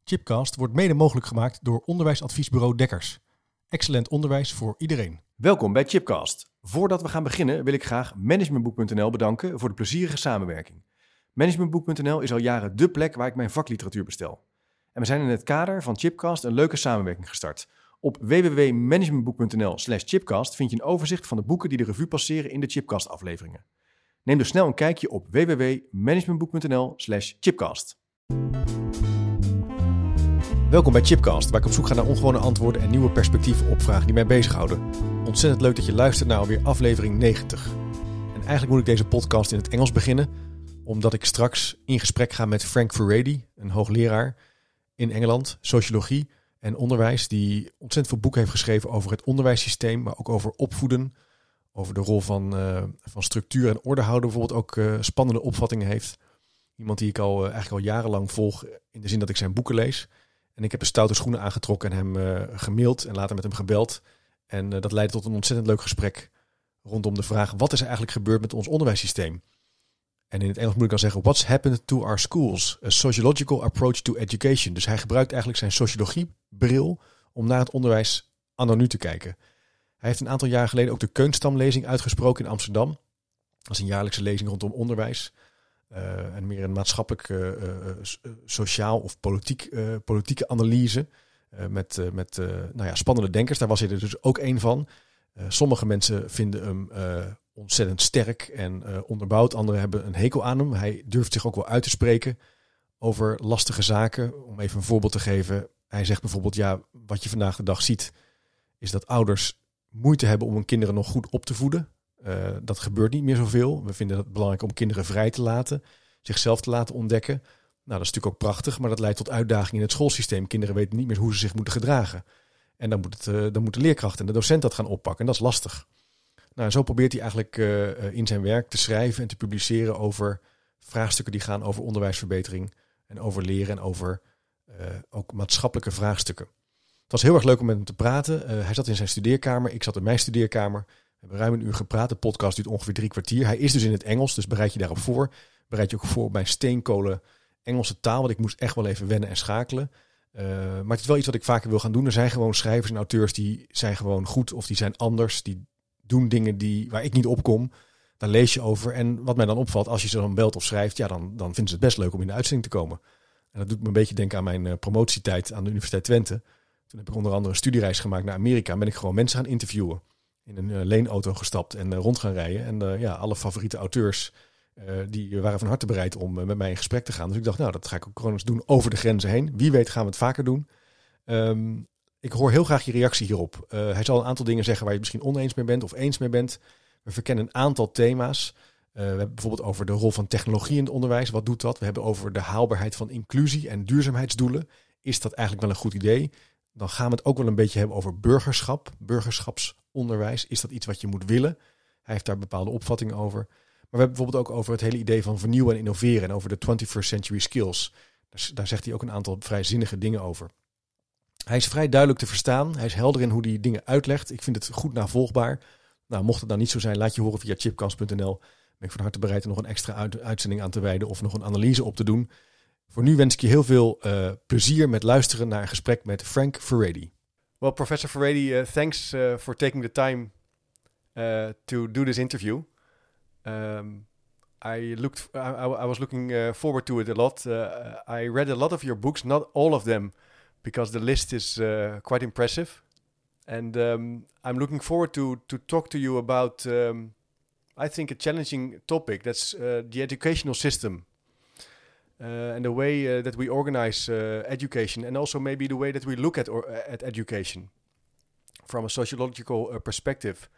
Chipcast wordt mede mogelijk gemaakt door onderwijsadviesbureau Dekkers. Excellent onderwijs voor iedereen. Welkom bij Chipcast. Voordat we gaan beginnen wil ik graag Managementboek.nl bedanken voor de plezierige samenwerking. Managementboek.nl is al jaren dé plek waar ik mijn vakliteratuur bestel. En we zijn in het kader van Chipcast een leuke samenwerking gestart. Op www.managementboek.nl/chipcast vind je een overzicht van de boeken die de revue passeren in de Chipcast afleveringen. Neem dus snel een kijkje op www.managementboek.nl/chipcast. Welkom bij Chipcast, waar ik op zoek ga naar ongewone antwoorden en nieuwe perspectieven op vragen die mij bezighouden. Ontzettend leuk dat je luistert naar alweer aflevering 90. En eigenlijk moet ik deze podcast in het Engels beginnen, omdat ik straks in gesprek ga met Frank Furedi, een hoogleraar in Engeland, sociologie en onderwijs, die ontzettend veel boeken heeft geschreven over het onderwijssysteem, maar ook over opvoeden, over de rol van structuur en orde houden, bijvoorbeeld ook spannende opvattingen heeft. Iemand die ik eigenlijk al jarenlang volg, in de zin dat ik zijn boeken lees. En ik heb de stoute schoenen aangetrokken en hem gemaild en later met hem gebeld. En dat leidde tot een ontzettend leuk gesprek rondom de vraag: wat is er eigenlijk gebeurd met ons onderwijssysteem? En in het Engels moet ik dan zeggen: what's happened to our schools? A sociological approach to education. Dus hij gebruikt eigenlijk zijn sociologiebril om naar het onderwijs anno nu te kijken. Hij heeft een aantal jaar geleden ook de Keunstamlezing uitgesproken in Amsterdam. Dat is een jaarlijkse lezing rondom onderwijs. En meer een maatschappelijk, sociaal of politieke analyse. Met spannende denkers. Daar was hij er dus ook één van. Sommige mensen vinden hem ontzettend sterk en onderbouwd. Anderen hebben een hekel aan hem. Hij durft zich ook wel uit te spreken over lastige zaken. Om even een voorbeeld te geven. Hij zegt bijvoorbeeld, ja, wat je vandaag de dag ziet, is dat ouders moeite hebben om hun kinderen nog goed op te voeden. Dat gebeurt niet meer zoveel. We vinden het belangrijk om kinderen vrij te laten, zichzelf te laten ontdekken. Nou, dat is natuurlijk ook prachtig, maar dat leidt tot uitdagingen in het schoolsysteem. Kinderen weten niet meer hoe ze zich moeten gedragen. En dan moet de leerkracht en de docent dat gaan oppakken. En dat is lastig. Nou, en zo probeert hij eigenlijk in zijn werk te schrijven en te publiceren over vraagstukken die gaan over onderwijsverbetering en over leren en over ook maatschappelijke vraagstukken. Het was heel erg leuk om met hem te praten. Hij zat in zijn studeerkamer, ik zat in mijn studeerkamer. We hebben ruim een uur gepraat. De podcast duurt ongeveer 3 kwartier. Hij is dus in het Engels, dus bereid je daarop voor. Bereid je ook voor op mijn steenkolen Engelse taal, want ik moest echt wel even wennen en schakelen. Maar het is wel iets wat ik vaker wil gaan doen. Er zijn gewoon schrijvers en auteurs die zijn gewoon goed of die zijn anders. Die doen dingen waar ik niet op kom. Daar lees je over. En wat mij dan opvalt, als je ze dan belt of schrijft, ja, dan vinden ze het best leuk om in de uitzending te komen. En dat doet me een beetje denken aan mijn promotietijd aan de Universiteit Twente. Toen heb ik onder andere een studiereis gemaakt naar Amerika en ben ik gewoon mensen gaan interviewen. In een leenauto gestapt en rond gaan rijden. En alle favoriete auteurs die waren van harte bereid om met mij in gesprek te gaan. Dus ik dacht, nou, dat ga ik ook gewoon eens doen over de grenzen heen. Wie weet gaan we het vaker doen. Ik hoor heel graag je reactie hierop. Hij zal een aantal dingen zeggen waar je het misschien oneens mee bent of eens mee bent. We verkennen een aantal thema's. We hebben bijvoorbeeld over de rol van technologie in het onderwijs. Wat doet dat? We hebben over de haalbaarheid van inclusie en duurzaamheidsdoelen. Is dat eigenlijk wel een goed idee? Dan gaan we het ook wel een beetje hebben over burgerschap, burgerschapsonderwijs. Is dat iets wat je moet willen? Hij heeft daar bepaalde opvattingen over. Maar we hebben bijvoorbeeld ook over het hele idee van vernieuwen en innoveren en over de 21st century skills. Daar zegt hij ook een aantal vrij zinnige dingen over. Hij is vrij duidelijk te verstaan. Hij is helder in hoe hij dingen uitlegt. Ik vind het goed navolgbaar. Nou, mocht het nou niet zo zijn, laat je horen via chipcast.nl. Ben ik van harte bereid er nog een extra uitzending aan te wijden of nog een analyse op te doen. Voor nu wens ik je heel veel plezier met luisteren naar een gesprek met Frank Furedi. Well, Professor Furedi, thanks for taking the time to do this interview. I was looking forward to it a lot. I read a lot of your books, not all of them, because the list is quite impressive. And I'm looking forward to talk to you about, I think, a challenging topic. That's the educational system. And the way that we organize education, and also maybe the way that we look at education from a sociological perspective.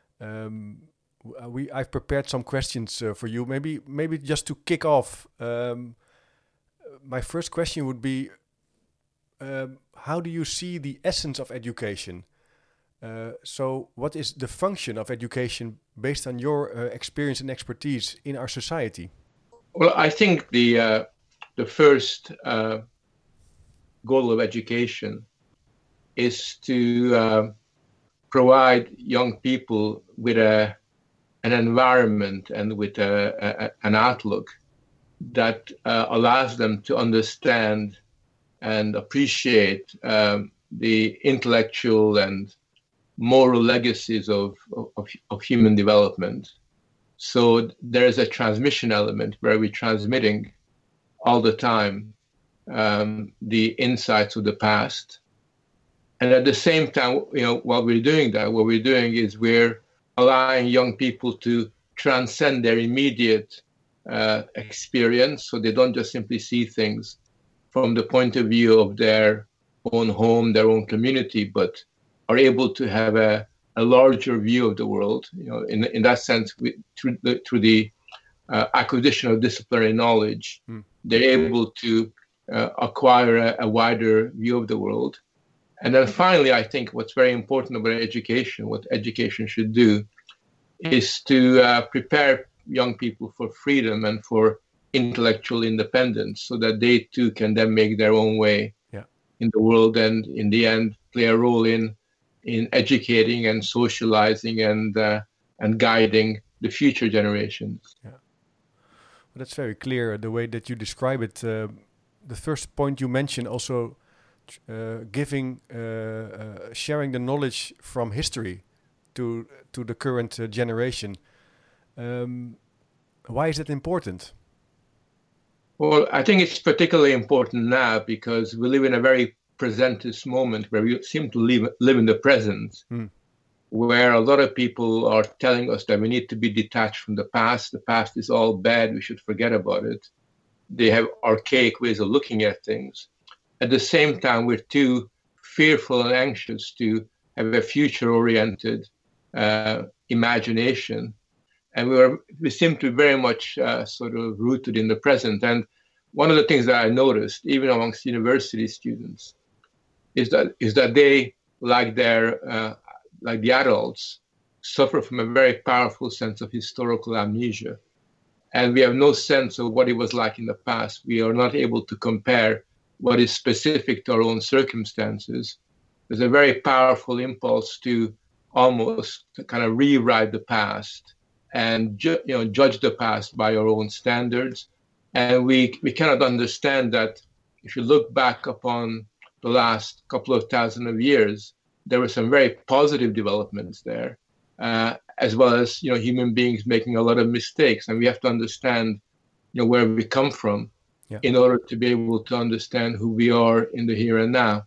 I've prepared some questions for you. Maybe just to kick off, my first question would be, how do you see the essence of education? So what is the function of education based on your experience and expertise in our society? Well, I think the first goal of education is to provide young people with an environment and with an outlook that allows them to understand and appreciate the intellectual and moral legacies of human development. So there is a transmission element where we're transmitting all the time the insights of the past. And at the same time, while we're doing that, what we're doing is we're allowing young people to transcend their immediate experience, so they don't just simply see things from the point of view of their own home, their own community, but are able to have a larger view of the world. In that sense, through the acquisition of disciplinary knowledge, they're able to acquire a wider view of the world. And then finally, I think what's very important about education, what education should do, is to prepare young people for freedom and for intellectual independence, so that they too can then make their own way in the world, and in the end play a role in educating and socializing and guiding the future generations. Yeah, well, that's very clear the way that you describe it. The first point you mentioned also, sharing the knowledge from history to the current generation. Why is that important? Well, I think it's particularly important now because we live in a very presentist moment where we seem to live in the present, where a lot of people are telling us that we need to be detached from the past. The past is all bad. We should forget about it. They have archaic ways of looking at things. At the same time, we're too fearful and anxious to have a future-oriented imagination. And we seem to be very much sort of rooted in the present. And one of the things that I noticed, even amongst university students, is that they, like the adults, suffer from a very powerful sense of historical amnesia. And we have no sense of what it was like in the past. We are not able to compare what is specific to our own circumstances. There's a very powerful impulse to almost kind of rewrite the past and judge the past by our own standards. And we cannot understand that if you look back upon the last couple of thousand of years, there were some very positive developments there, as well as human beings making a lot of mistakes. And we have to understand where we come from in order to be able to understand who we are in the here and now.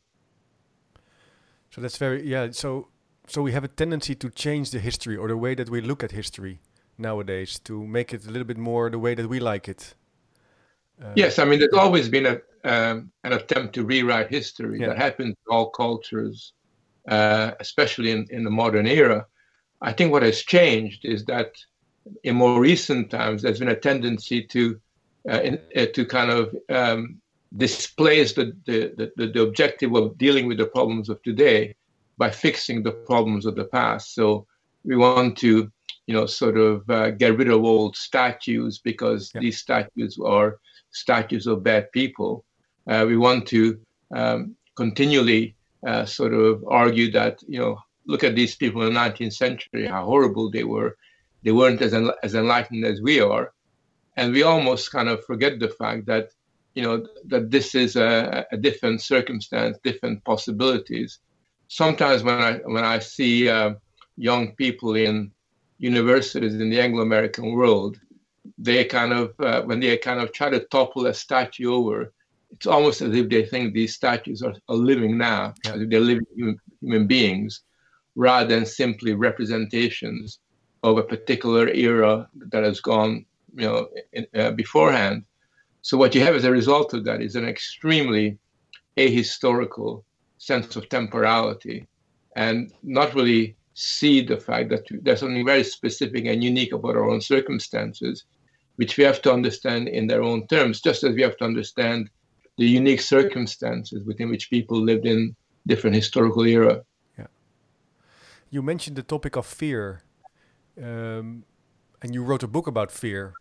So that's So we have a tendency to change the history or the way that we look at history nowadays, to make it a little bit more the way that we like it. Yes, I mean, there's always been an attempt to rewrite history. That happens in all cultures, especially in the modern era. I think what has changed is that in more recent times, there's been a tendency to kind of displace the objective of dealing with the problems of today by fixing the problems of the past. So we want to, sort of get rid of old statues because these statues are statues of bad people. We want to continually sort of argue that, look at these people in the 19th century, how horrible they were. They weren't as enlightened as we are. And we almost kind of forget the fact that, that this is a different circumstance, different possibilities. Sometimes when I see young people in universities in the Anglo-American world, they kind of, when they kind of try to topple a statue over, it's almost as if they think these statues are living now, as if they're living human beings, rather than simply representations of a particular era that has gone, beforehand. So what you have as a result of that is an extremely ahistorical sense of temporality, and not really see the fact that there's something very specific and unique about our own circumstances, which we have to understand in their own terms, just as we have to understand the unique circumstances within which people lived in different historical era. Yeah. You mentioned the topic of fear, and you wrote a book about fear.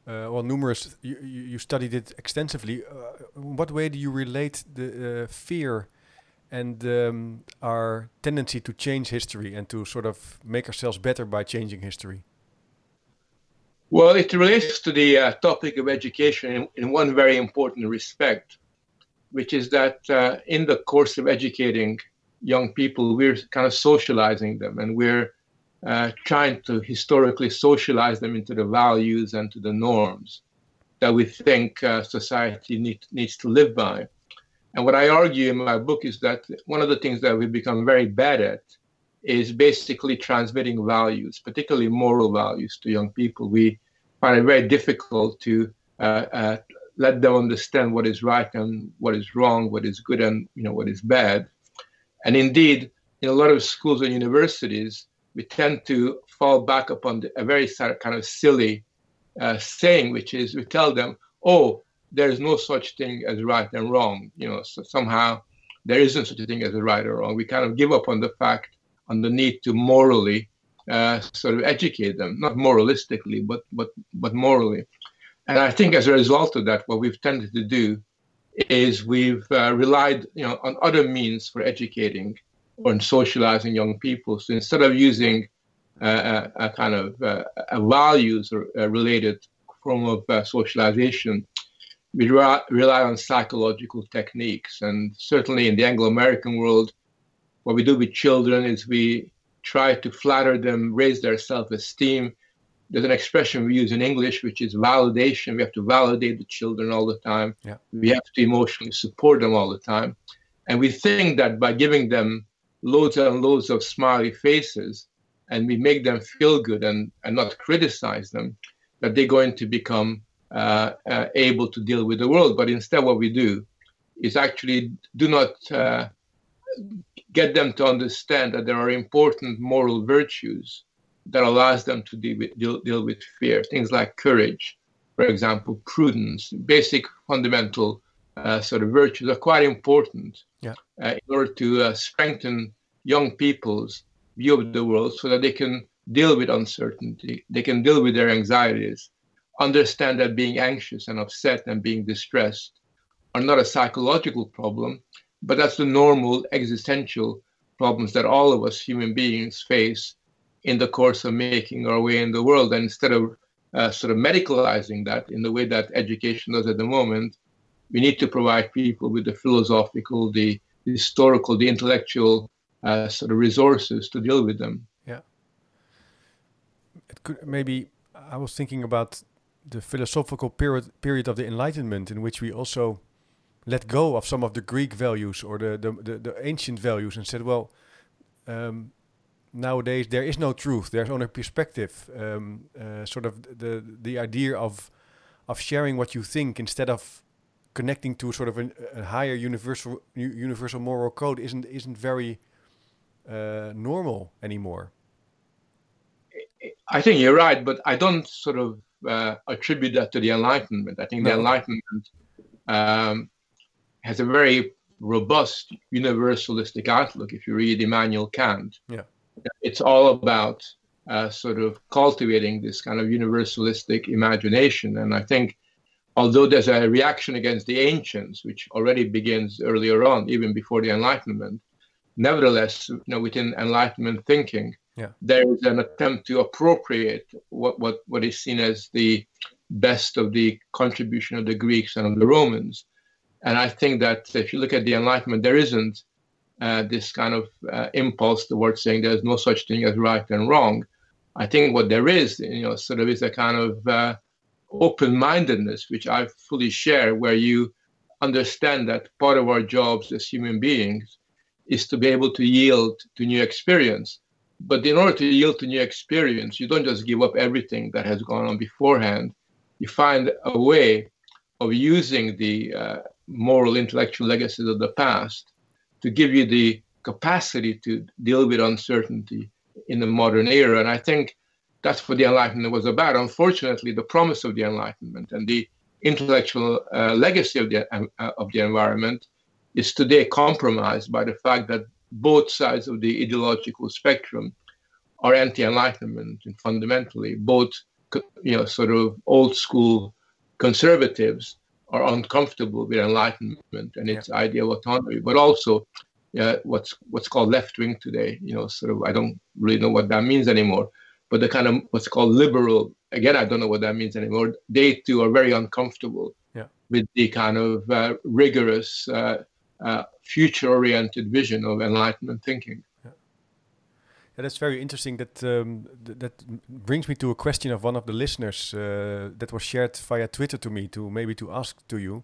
You studied it extensively. In what way do you relate the fear and our tendency to change history and to sort of make ourselves better by changing history? Well, it relates to the topic of education in one very important respect, which is that in the course of educating young people, we're kind of socializing them, and we're trying to historically socialize them into the values and to the norms that we think society needs to live by. And what I argue in my book is that one of the things that we've become very bad at is basically transmitting values, particularly moral values, to young people. We find it very difficult to let them understand what is right and what is wrong, what is good and what is bad. And indeed, in a lot of schools and universities, we tend to fall back upon a very kind of silly saying, which is we tell them, oh, there's no such thing as right and wrong. So somehow there isn't such a thing as a right or wrong. We kind of give up on the need to morally sort of educate them, not moralistically, but morally. And I think as a result of that, what we've tended to do is we've relied on other means for educating or in socializing young people. So instead of using a kind of a values or a related form of socialization, we rely on psychological techniques. And certainly in the Anglo-American world, what we do with children is we try to flatter them, raise their self-esteem. There's an expression we use in English, which is validation. We have to validate the children all the time. Yeah. We have to emotionally support them all the time. And we think that by giving them loads and loads of smiley faces, and we make them feel good and not criticize them, that they're going to become able to deal with the world. But instead what we do is actually do not get them to understand that there are important moral virtues that allows them to deal with fear. Things like courage, for example, prudence, basic fundamental sort of virtues are quite important in order to strengthen young people's view of the world so that they can deal with uncertainty, they can deal with their anxieties, understand that being anxious and upset and being distressed are not a psychological problem, but that's the normal existential problems that all of us human beings face in the course of making our way in the world. And instead of sort of medicalizing that in the way that education does at the moment, we need to provide people with the philosophical, the historical, the intellectual sort of resources to deal with them. Yeah. It could, maybe I was thinking about the philosophical period of the Enlightenment, in which we also let go of some of the Greek values or the ancient values and said, well, nowadays there is no truth, there's only perspective. Sort of the idea of sharing what you think instead of connecting to sort of a higher universal moral code isn't very normal anymore. I think you're right, but I don't sort of attribute that to the Enlightenment. I think the Enlightenment has a very robust universalistic outlook. If you read Immanuel Kant, it's all about sort of cultivating this kind of universalistic imagination. And I think although there's a reaction against the ancients, which already begins earlier on, even before the Enlightenment, nevertheless, within Enlightenment thinking, there is an attempt to appropriate what is seen as the best of the contribution of the Greeks and of the Romans. And I think that if you look at the Enlightenment, there isn't this kind of impulse towards saying there's no such thing as right and wrong. I think what there is, sort of is a kind of open-mindedness, which I fully share, where you understand that part of our jobs as human beings is to be able to yield to new experience. But in order to yield to new experience, you don't just give up everything that has gone on beforehand. You find a way of using the moral, intellectual legacies of the past to give you the capacity to deal with uncertainty in the modern era. And I think that's what the Enlightenment was about. Unfortunately, the promise of the Enlightenment and the intellectual legacy of the environment is today compromised by the fact that both sides of the ideological spectrum are anti-Enlightenment, and fundamentally both, sort of old school conservatives are uncomfortable with Enlightenment and its idea of autonomy, but also what's called left wing today. Sort of, I don't really know what that means anymore, but the kind of what's called liberal, again, I don't know what that means anymore. They too are very uncomfortable with the kind of rigorous, future-oriented vision of Enlightenment thinking. Yeah, that's very interesting. That brings me to a question of one of the listeners that was shared via Twitter to me, to ask to you.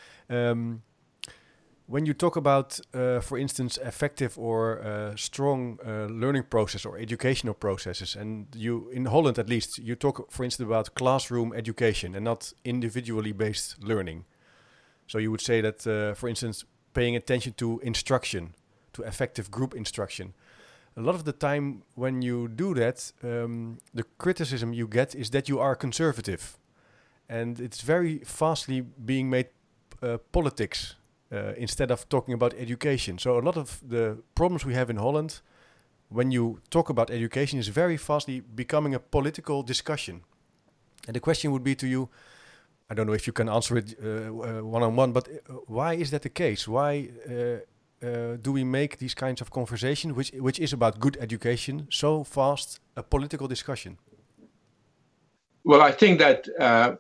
When you talk about, for instance, effective or strong learning process or educational processes, and you, in Holland at least, you talk, for instance, about classroom education and not individually based learning. So you would say that, for instance, paying attention to instruction, to effective group instruction. A lot of the time when you do that, the criticism you get is that you are conservative. And it's very fastly being made politics instead of talking about education. So a lot of the problems we have in Holland, when you talk about education, is very fastly becoming a political discussion. And the question would be to you, I don't know if you can answer it one-on-one, but why is that the case? Why do we make these kinds of conversations, which is about good education, so fast a political discussion? Well, I think that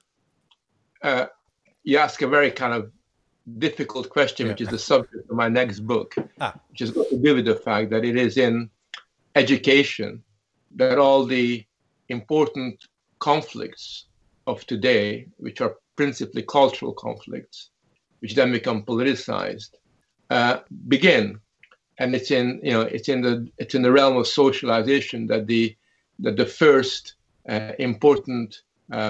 you ask a very kind of difficult question, which is the subject of my next book, which is got to do with the fact that it is in education that all the important conflicts of today, which are principally cultural conflicts, which then become politicized, begin. And it's in the realm of socialization that the first important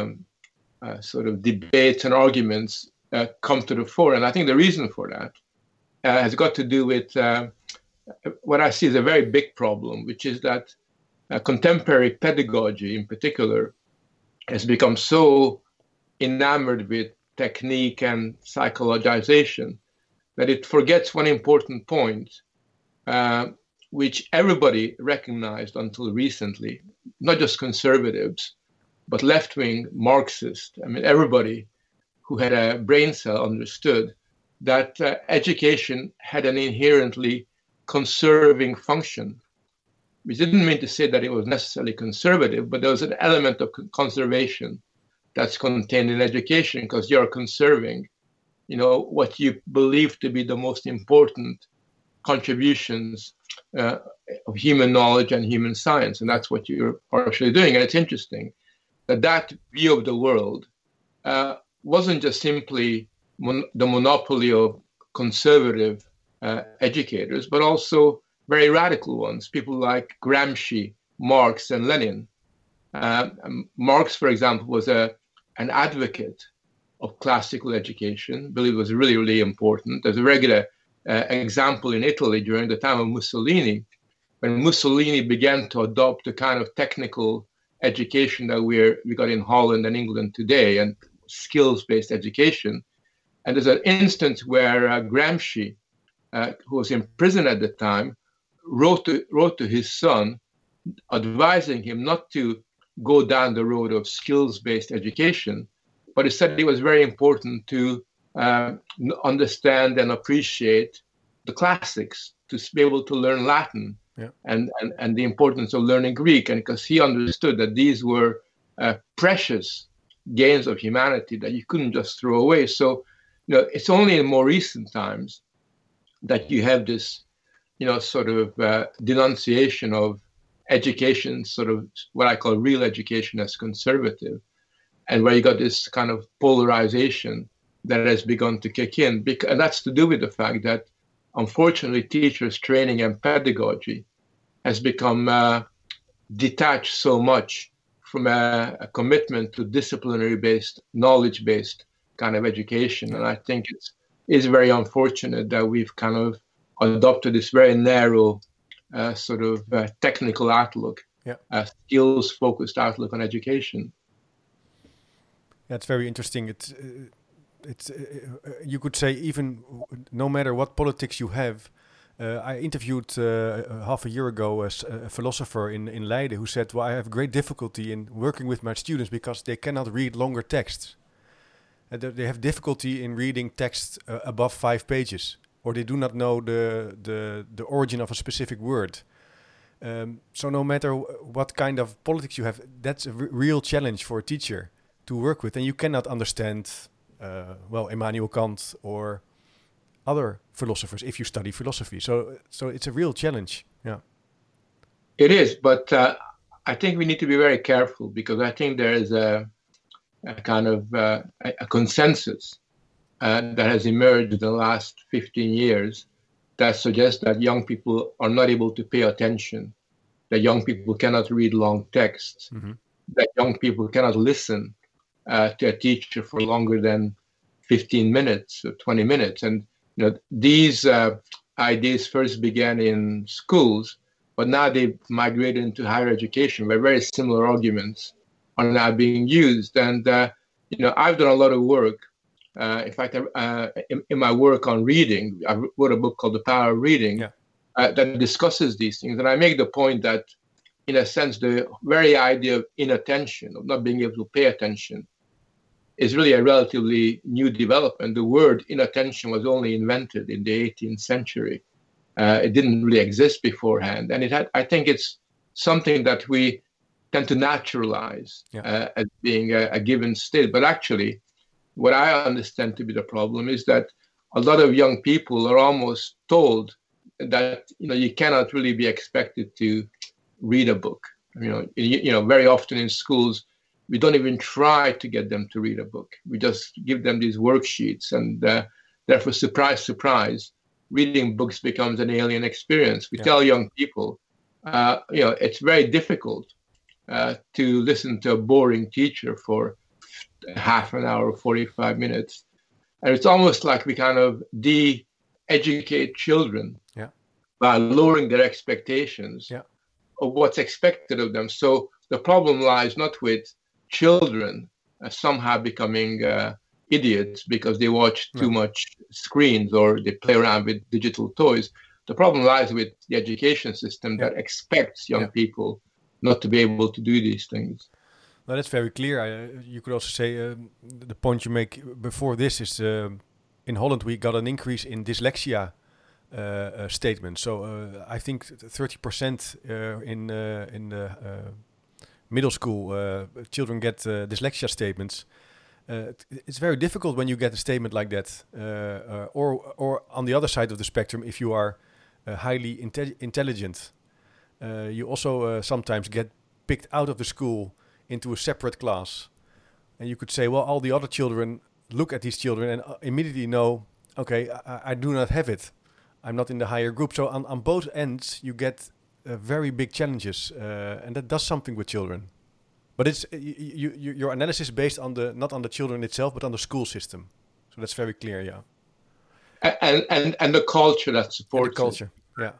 sort of debates and arguments come to the fore. And I think the reason for that has got to do with what I see as a very big problem, which is that contemporary pedagogy in particular has become so enamored with technique and psychologization that it forgets one important point, which everybody recognized until recently, not just conservatives, but left-wing Marxists. I mean, everybody who had a brain cell understood that education had an inherently conserving function, which didn't mean to say that it was necessarily conservative, but there was an element of conservation that's contained in education, because you're conserving, what you believe to be the most important contributions of human knowledge and human science. And that's what you're partially doing. And it's interesting that view of the world wasn't just simply the monopoly of conservative educators, but also very radical ones, people like Gramsci, Marx, and Lenin. Marx, for example, was an advocate of classical education, believed it was really, really important. There's a regular example in Italy during the time of Mussolini, when Mussolini began to adopt the kind of technical education that we got in Holland and England today, and skills-based education. And there's an instance where Gramsci, who was in prison at the time, wrote to his son, advising him not to go down the road of skills-based education, but he said it was very important to understand and appreciate the classics, to be able to learn Latin, and the importance of learning Greek, and because he understood that these were precious gains of humanity that you couldn't just throw away. So, it's only in more recent times that you have this, sort of denunciation of education, sort of what I call real education as conservative, and where you got this kind of polarization that has begun to kick in. And that's to do with the fact that, unfortunately, teachers' training and pedagogy has become detached so much from a commitment to disciplinary-based, knowledge-based kind of education. And I think it's very unfortunate that we've kind of adopted this very narrow sort of technical outlook, skills-focused outlook on education. That's very interesting. It's you could say, even no matter what politics you have. I interviewed half a year ago a philosopher in Leiden who said, well, I have great difficulty in working with my students because they cannot read longer texts. They have difficulty in reading text above 5 pages, or they do not know the origin of a specific word. So no matter what kind of politics you have, that's a real challenge for a teacher to work with. And you cannot understand Immanuel Kant or other philosophers if you study philosophy. So it's a real challenge. Yeah, it is. But I think we need to be very careful, because I think there is a kind of a consensus that has emerged in the last 15 years that suggests that young people are not able to pay attention, that young people cannot read long texts, that young people cannot listen to a teacher for longer than 15 minutes or 20 minutes. And these ideas first began in schools, but now they've migrated into higher education, where very similar arguments are now being used. And I've done a lot of work. In fact, in my work on reading, I wrote a book called The Power of Reading that discusses these things. And I make the point that, in a sense, the very idea of inattention, of not being able to pay attention, is really a relatively new development. The word inattention was only invented in the 18th century. It didn't really exist beforehand. And I think it's something that we tend to naturalize as being a given state. But actually, what I understand to be the problem is that a lot of young people are almost told that you cannot really be expected to read a book. Very often in schools, we don't even try to get them to read a book. We just give them these worksheets, and therefore, surprise, surprise, reading books becomes an alien experience. We tell young people, it's very difficult to listen to a boring teacher for half an hour, 45 minutes. And it's almost like we kind of de-educate children by lowering their expectations of what's expected of them. So the problem lies not with children somehow becoming idiots because they watch too much screens or they play around with digital toys. The problem lies with the education system that expects young people not to be able to do these things. No, that's very clear. You could also say the point you make before this is in Holland we got an increase in dyslexia statements. So I think 30% in the middle school children get dyslexia statements. It's very difficult when you get a statement like that. Or on the other side of the spectrum, if you are highly intelligent, you also sometimes get picked out of the school into a separate class. And you could say, well, all the other children look at these children and immediately know, okay, I do not have it. I'm not in the higher group. So on both ends, you get very big challenges. And that does something with children. But it's your analysis is based on not on the children itself, but on the school system. So that's very clear, And the culture that supports the culture,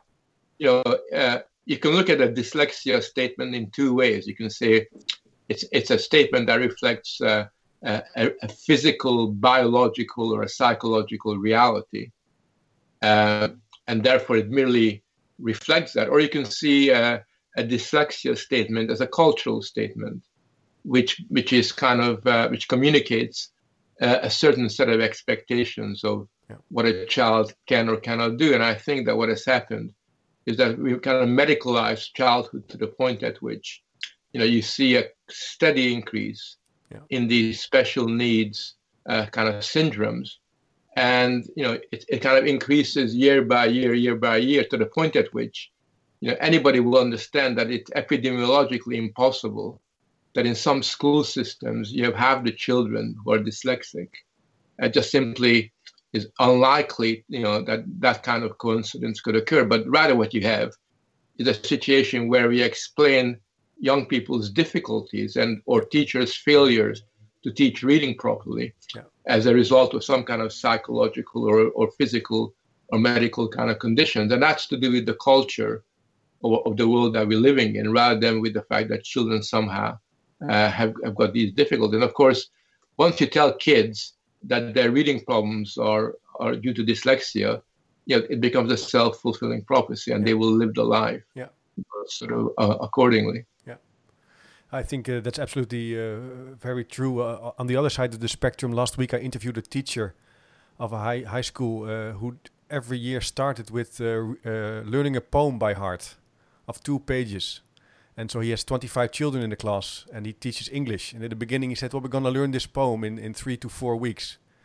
you can look at a dyslexia statement in two ways. You can say it's a statement that reflects a physical, biological, or a psychological reality, and therefore it merely reflects that. Or you can see a dyslexia statement as a cultural statement, which is kind of which communicates a certain set of expectations of what a child can or cannot do. And I think that what has happened is that we've kind of medicalized childhood to the point at which you see a steady increase in these special needs kind of syndromes, and it kind of increases year by year to the point at which anybody will understand that it's epidemiologically impossible that in some school systems you have half the children who are dyslexic. It just simply is unlikely, that kind of coincidence could occur. But rather what you have is a situation where we explain young people's difficulties or teachers' failures to teach reading properly as a result of some kind of psychological or physical or medical kind of conditions. And that's to do with the culture of the world that we're living in, rather than with the fact that children somehow have got these difficulties. And of course, once you tell kids that their reading problems are due to dyslexia, it becomes a self-fulfilling prophecy, and they will live the life sort of accordingly. I think that's absolutely very true. On the other side of the spectrum, last week I interviewed a teacher of a high school who every year started with learning a poem by heart of 2 pages. And so he has 25 children in the class and he teaches English. And at the beginning he said, well, we're going to learn this poem in 3 to 4 weeks.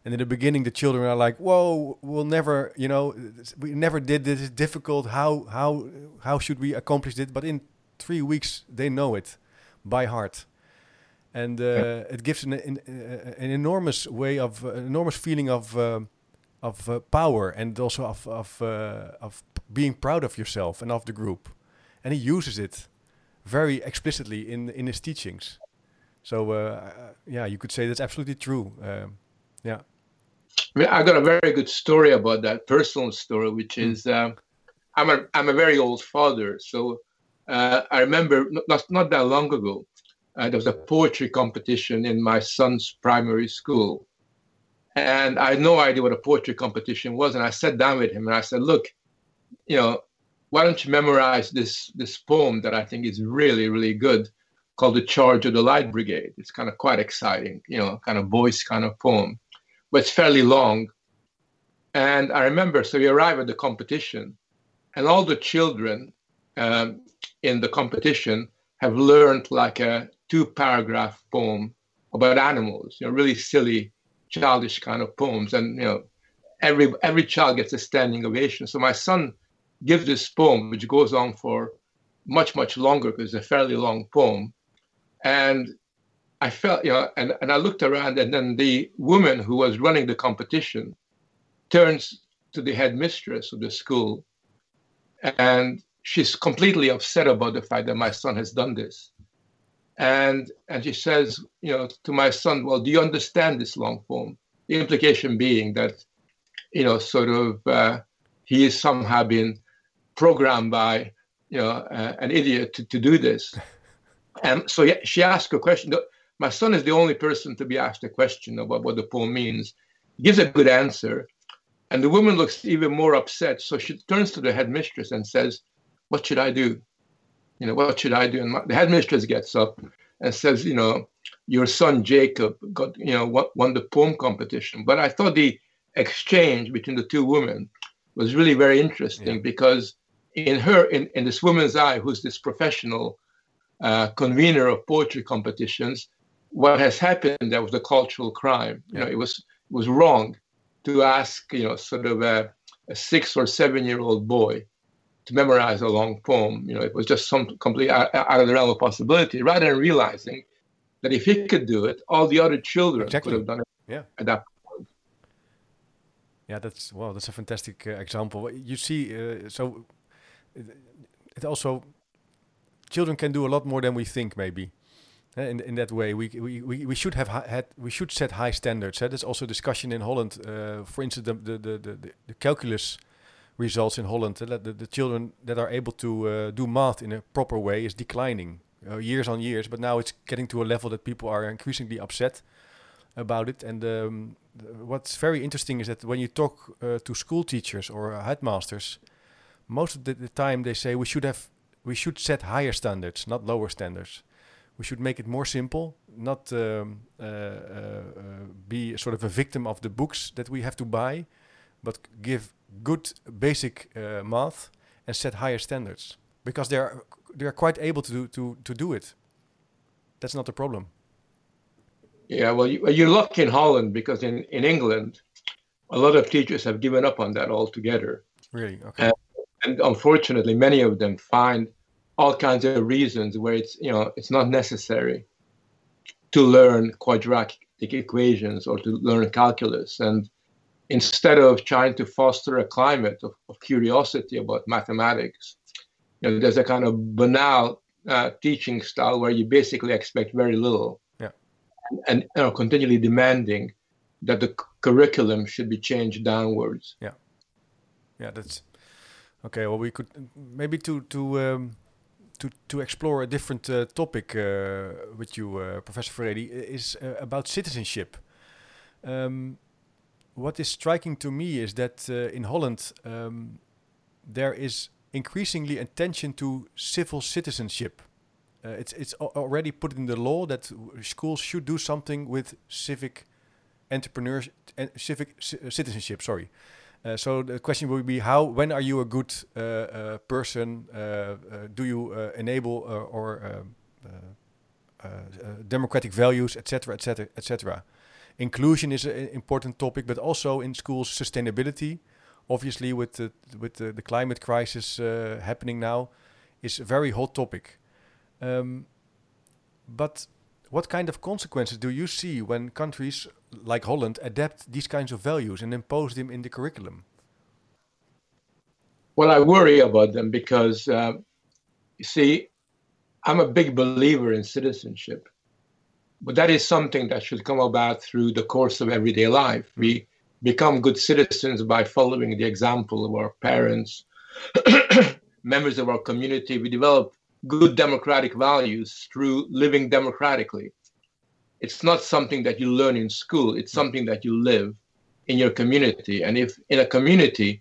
And in the beginning, the children are like, "Whoa, we'll never, we never did this. It's difficult. How should we accomplish it?" But in 3 weeks, they know it by heart, and it gives an enormous enormous feeling of power, and also of being proud of yourself and of the group. And he uses it very explicitly in his teachings. So you could say that's absolutely true. Yeah. I mean, I got a very good story about that, personal story, which is I'm a very old father. So I remember not that long ago, there was a poetry competition in my son's primary school. And I had no idea what a poetry competition was. And I sat down with him and I said, look, why don't you memorize this poem that I think is really, really good, called The Charge of the Light Brigade. It's kind of quite exciting, kind of voice kind of poem, but it's fairly long. And I remember, so we arrive at the competition, and all the children in the competition have learned like a 2-paragraph poem about animals, really silly, childish kind of poems. And, every child gets a standing ovation. So my son gives this poem, which goes on for much, much longer because it's a fairly long poem. And I felt, and I looked around, and then the woman who was running the competition turns to the headmistress of the school, and she's completely upset about the fact that my son has done this. And she says, to my son, well, do you understand this long poem? The implication being that, he has somehow been programmed by, an idiot to do this. And so she asked a question. My son is the only person to be asked a question about what the poem means. He gives a good answer. And the woman looks even more upset. So she turns to the headmistress and says, what should I do? What should I do? And the headmistress gets up and says, your son Jacob got, won the poem competition. But I thought the exchange between the two women was really very interesting, because in this woman's eye, who's this professional convener of poetry competitions, what has happened there was a cultural crime. It was wrong to ask, sort of a 6 or 7-year-old boy to memorize a long poem. It was just some complete out of the realm of possibility, rather than realizing that if he could do it, all the other children could have done it at that point. Yeah, that's a fantastic example. You see, so it also, children can do a lot more than we think, maybe. In that way, we should have we should set high standards. There's also discussion in Holland. For instance, the calculus results in Holland. The children that are able to do math in a proper way is declining years on years. But now it's getting to a level that people are increasingly upset about it. And what's very interesting is that when you talk to school teachers or headmasters, most of the time they say we should set higher standards, not lower standards. We should make it more simple, not be sort of a victim of the books that we have to buy, but give good basic math and set higher standards, because they are quite able to do it. That's not the problem. Yeah, well, you're lucky in Holland, because in England, a lot of teachers have given up on that altogether. Really? Okay. And unfortunately, many of them find all kinds of reasons where it's not necessary to learn quadratic equations or to learn calculus. And instead of trying to foster a climate of curiosity about mathematics, there's a kind of banal teaching style where you basically expect very little, and continually demanding that the curriculum should be changed downwards. Yeah, that's okay. Well, we could maybe to explore a different topic with you, Professor Furedi, is about citizenship. What is striking to me is that in Holland there is increasingly attention to civil citizenship. It's already put in the law that schools should do something with civic entrepreneurship and civic citizenship. Sorry. So the question would be, when are you a good person? Do you enable democratic values, etc., etc., etc.? inclusion is an important topic, but also in schools, sustainability, obviously with the climate crisis happening now, is a very hot topic. But what kind of consequences do you see when countries like Holland adapt these kinds of values and impose them in the curriculum? Well, I worry about them because, you see, I'm a big believer in citizenship, but that is something that should come about through the course of everyday life. We become good citizens by following the example of our parents, members of our community. We develop good democratic values through living democratically. It's not something that you learn in school. It's something that you live in your community. And if in a community,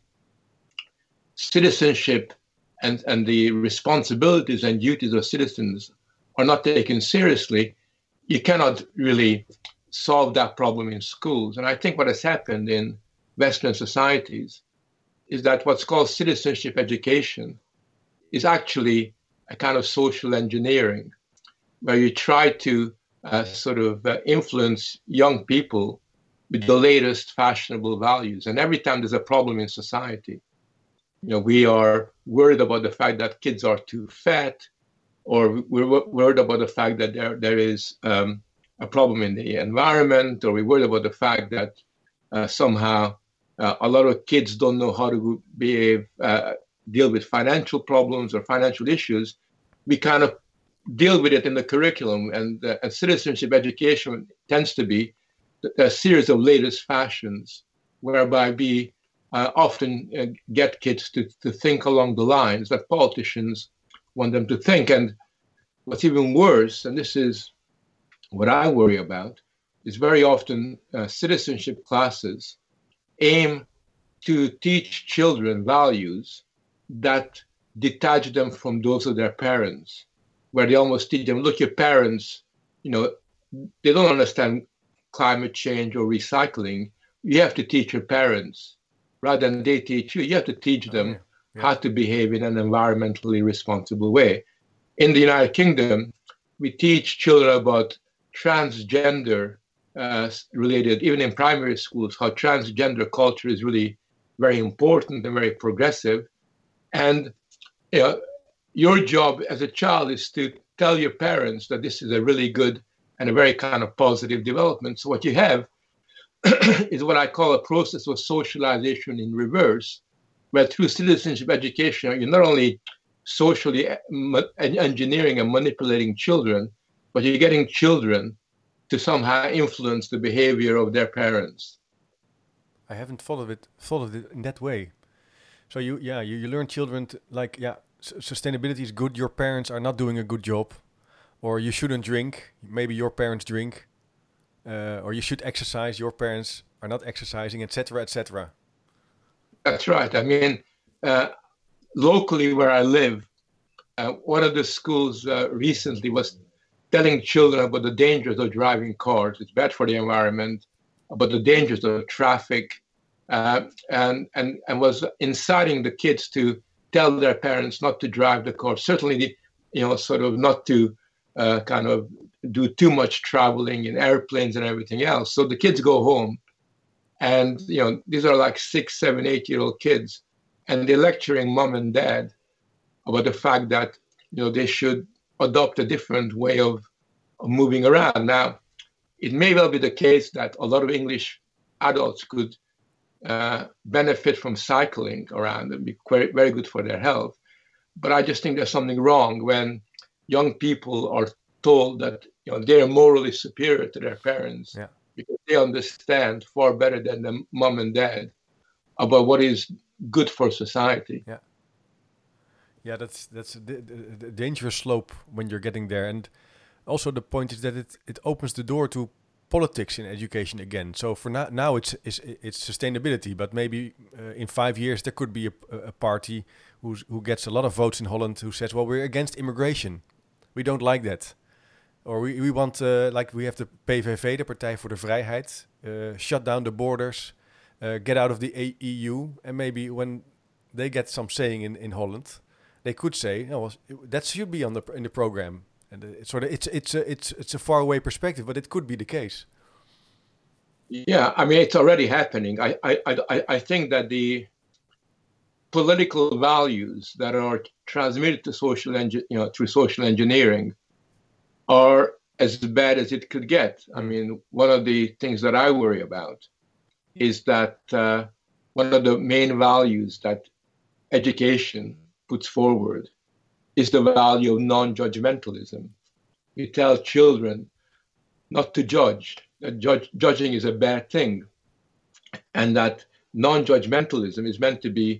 citizenship and the responsibilities and duties of citizens are not taken seriously, you cannot really solve that problem in schools. And I think what has happened in Western societies is that what's called citizenship education is actually a kind of social engineering, where you try to influence young people with the latest fashionable values. And every time there's a problem in society, we are worried about the fact that kids are too fat, or we're worried about the fact that there is a problem in the environment, or we're worried about the fact that somehow a lot of kids don't know how to deal with financial problems or financial issues. We kind of deal with it in the curriculum, and citizenship education tends to be a series of latest fashions, whereby we often get kids to think along the lines that politicians want them to think. And what's even worse, and this is what I worry about, is very often citizenship classes aim to teach children values that detach them from those of their parents, where they almost teach them, look, your parents, they don't understand climate change or recycling. You have to teach your parents. Rather than they teach you, you have to teach them how to behave in an environmentally responsible way. In the United Kingdom, we teach children about transgender related, even in primary schools, how transgender culture is really very important and very progressive. And your job as a child is to tell your parents that this is a really good and a very kind of positive development. So what you have is what I call a process of socialization in reverse, where through citizenship education, you're not only socially engineering and manipulating children, but you're getting children to somehow influence the behavior of their parents. I haven't followed it in that way. So you learn children sustainability is good. Your parents are not doing a good job, or you shouldn't drink. Maybe your parents drink, or you should exercise. Your parents are not exercising, etc., etc. That's right. I mean, locally where I live, one of the schools recently was telling children about the dangers of driving cars. It's bad for the environment, about the dangers of traffic, and was inciting the kids to tell their parents not to drive the car. Certainly, not to kind of do too much traveling in airplanes and everything else. So the kids go home, and these are like 6, 7, 8-year-old kids, and they're lecturing mom and dad about the fact that they should adopt a different way of moving around. Now, it may well be the case that a lot of English adults could benefit from cycling around and be very good for their health. But I just think there's something wrong when young people are told that they're morally superior to their parents because they understand far better than the mom and dad about what is good for society. Yeah, that's a dangerous slope when you're getting there. And also the point is that it opens the door to politics in education again. So for now it's sustainability, but maybe in 5 years there could be a party who gets a lot of votes in Holland who says, well, we're against immigration. We don't like that. Or we want, we have the PVV, the Partij voor de Vrijheid, shut down the borders, get out of the EU. And maybe when they get some saying in Holland, they could say, that should be in the program. And it's a faraway perspective, but it could be the case. Yeah, I mean, it's already happening. I think that the political values that are transmitted to through social engineering are as bad as it could get. I mean, one of the things that I worry about is that one of the main values that education puts forward is the value of non-judgmentalism. We tell children not to judge, that judging is a bad thing, and that non-judgmentalism is meant to be,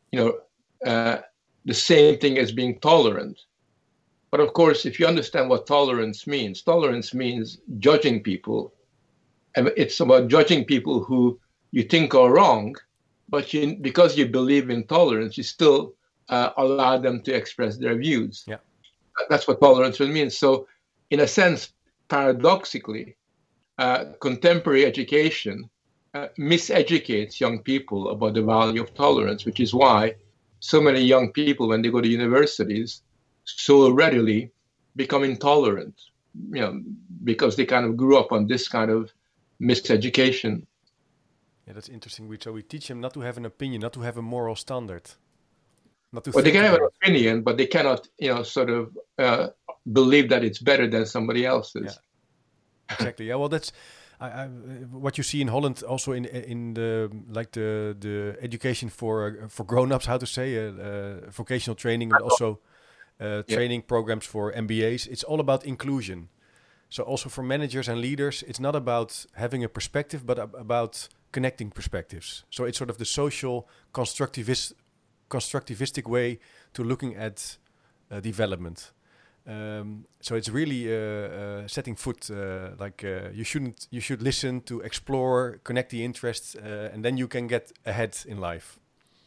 the same thing as being tolerant. But of course, if you understand what tolerance means judging people. And it's about judging people who you think are wrong, but because you believe in tolerance, you still allow them to express their views. Yeah. That's what tolerance really means. So, in a sense, paradoxically, contemporary education miseducates young people about the value of tolerance, which is why so many young people, when they go to universities, so readily become intolerant, because they kind of grew up on this kind of miseducation. Yeah, that's interesting. So we teach them not to have an opinion, not to have a moral standard. Well, they can have an opinion, but they cannot, believe that it's better than somebody else's. Yeah. Exactly. Yeah. Well, that's what you see in Holland, also in the education for grown-ups, how to say, vocational training, but also training programs for MBAs. It's all about inclusion. So also for managers and leaders, it's not about having a perspective, but about connecting perspectives. So it's sort of the social constructivistic way to looking at development. So it's really setting foot. You should listen to explore, connect the interests, and then you can get ahead in life.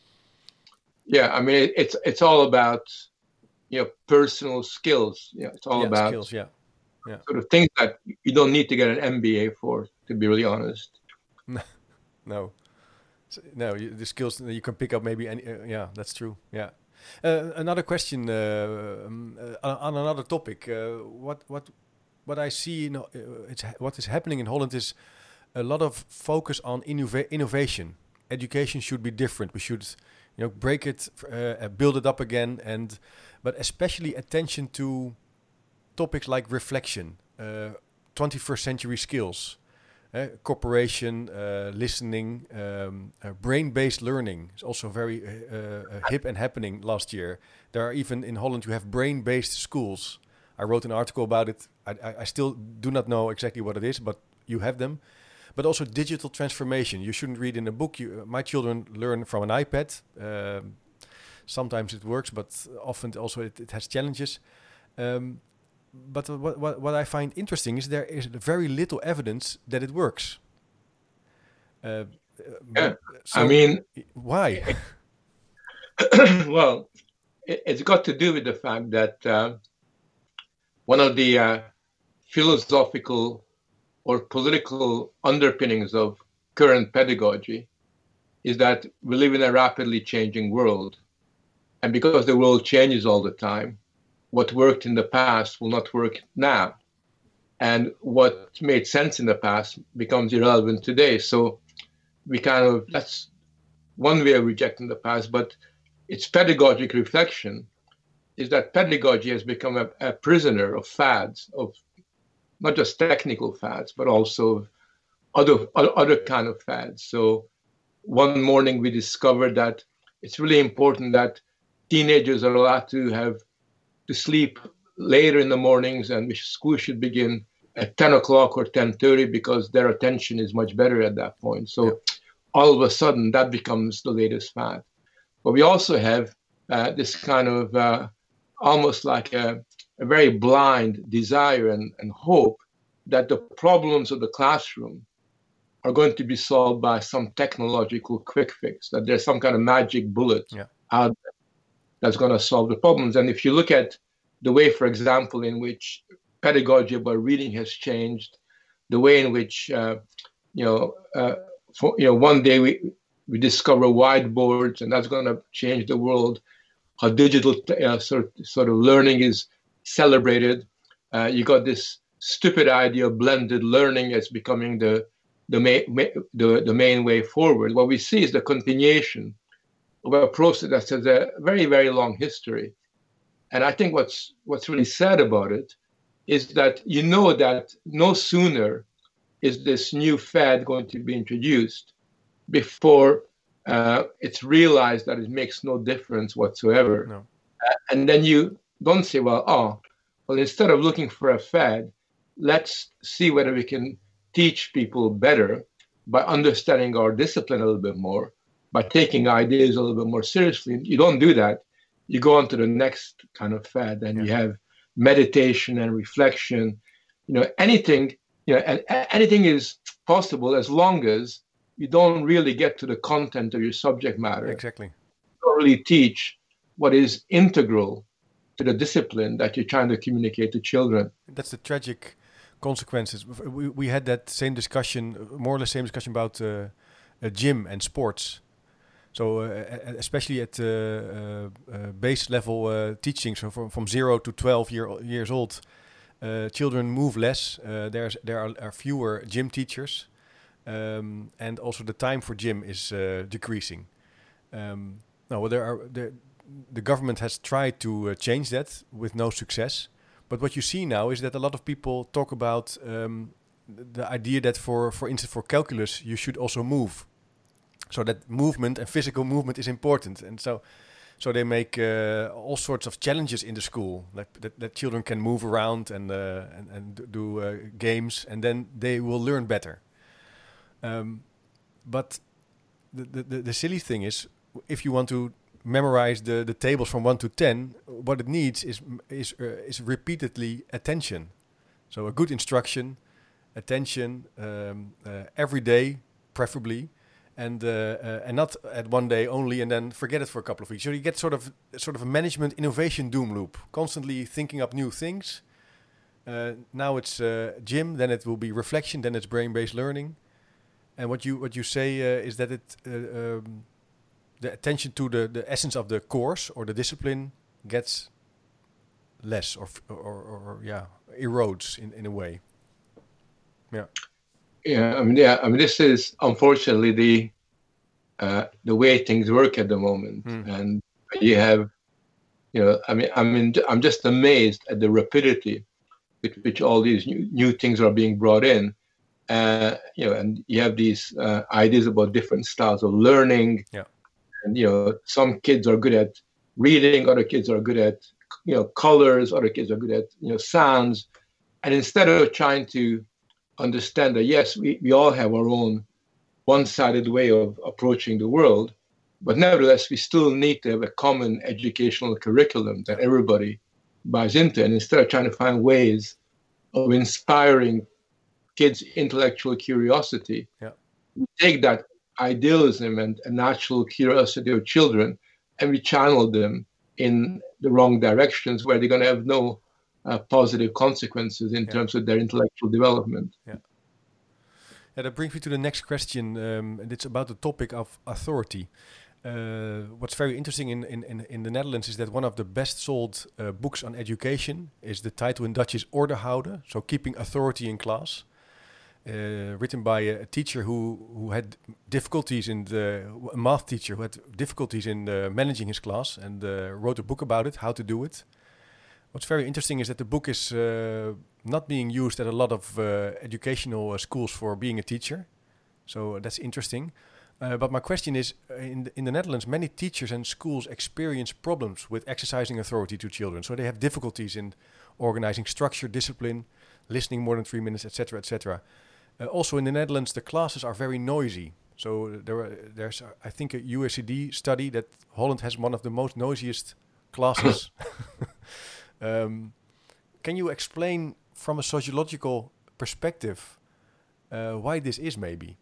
Yeah, I mean it's all about personal skills. It's all about skills. Yeah. Sort of things that you don't need to get an MBA for, to be really honest. No, the skills that you can pick up maybe. Yeah, that's true. Yeah. Another question on another topic. What I see, what is happening in Holland is a lot of focus on innovation. Education should be different. We should, break it, build it up again, but especially attention to topics like reflection, 21st century skills. Cooperation, listening, brain-based learning is also very hip and happening last year. There are even in Holland, you have brain-based schools. I wrote an article about it. I still do not know exactly what it is, but you have them. But also digital transformation. You shouldn't read in a book. My children learn from an iPad. Sometimes it works, but often also it has challenges. But what I find interesting is there is very little evidence that it works. I mean, why? Well, it's got to do with the fact that one of the philosophical or political underpinnings of current pedagogy is that we live in a rapidly changing world. And because the world changes all the time, what worked in the past will not work now. And what made sense in the past becomes irrelevant today. So that's one way of rejecting the past, but its pedagogic reflection is that pedagogy has become a prisoner of fads, of not just technical fads, but also other kind of fads. So one morning we discovered that it's really important that teenagers are allowed to sleep later in the mornings, and school should begin at 10 o'clock or 10:30 because their attention is much better at that point. So all of a sudden that becomes the latest fad. But we also have this kind of almost like a very blind desire and hope that the problems of the classroom are going to be solved by some technological quick fix, that there's some kind of magic bullet out there that's going to solve the problems. And if you look at the way, for example, in which pedagogy about reading has changed, the way in which, one day we discover whiteboards and that's going to change the world, how digital sort of learning is celebrated. You got this stupid idea of blended learning as becoming the the main way forward. What we see is the continuation of a process that has a very, very long history. And I think what's really sad about it is that you know that no sooner is this new fad going to be introduced before it's realized that it makes no difference whatsoever. No. And then you don't say, well, instead of looking for a fad, let's see whether we can teach people better by understanding our discipline a little bit more, by taking ideas a little bit more seriously. You don't do that. You go on to the next kind of fad, and you have meditation and reflection. Anything, and anything is possible as long as you don't really get to the content of your subject matter. Exactly. You don't really teach what is integral to the discipline that you're trying to communicate to children. That's the tragic consequences. We had that same discussion, more or less same discussion about gym and sports. So especially at base level teaching, so from 0 to 12 years old, children move less. There are fewer gym teachers, and also the time for gym is decreasing. The government has tried to change that with no success. But what you see now is that a lot of people talk about the idea that, for instance, for calculus, you should also move. So that movement and physical movement is important. And so they make all sorts of challenges in the school, like that children can move around and do games, and then they will learn better. But the silly thing is, if you want to memorize the tables from 1 to 10, what it needs is repeatedly attention. So a good instruction, attention, every day, preferably, and not at one day only and then forget it for a couple of weeks. So you get sort of a management innovation doom loop, constantly thinking up new things. Now it's gym, then it will be reflection, then it's brain-based learning. And what you say is that it the attention to the essence of the course or the discipline gets less or erodes in a way. I mean, this is unfortunately the way things work at the moment. And you have, I'm just amazed at the rapidity with which all these new things are being brought in. And you have these ideas about different styles of learning. Yeah. And, some kids are good at reading, other kids are good at, colors, other kids are good at, sounds. And instead of trying to understand that, yes, we all have our own one-sided way of approaching the world, but nevertheless, we still need to have a common educational curriculum that everybody buys into. And instead of trying to find ways of inspiring kids' intellectual curiosity, we take that idealism and natural curiosity of children, and we channel them in the wrong directions where they're going to have no positive consequences in terms of their intellectual development. That brings me to the next question, and it's about the topic of authority. What's very interesting in the Netherlands is that one of the best sold books on education is, the title in Dutch is Ordehouden, so keeping authority in class. Written by a teacher who had difficulties a math teacher who had difficulties in managing his class, and wrote a book about it, how to do it. What's very interesting is that the book is not being used at a lot of educational schools for being a teacher. So that's interesting. But my question is, in the Netherlands, many teachers and schools experience problems with exercising authority to children. So they have difficulties in organizing structure, discipline, listening more than 3 minutes, etc., etc. Also in the Netherlands, the classes are very noisy. So there's, I think, a USCD study that Holland has one of the most noisiest classes. Can you explain from a sociological perspective why this is, maybe?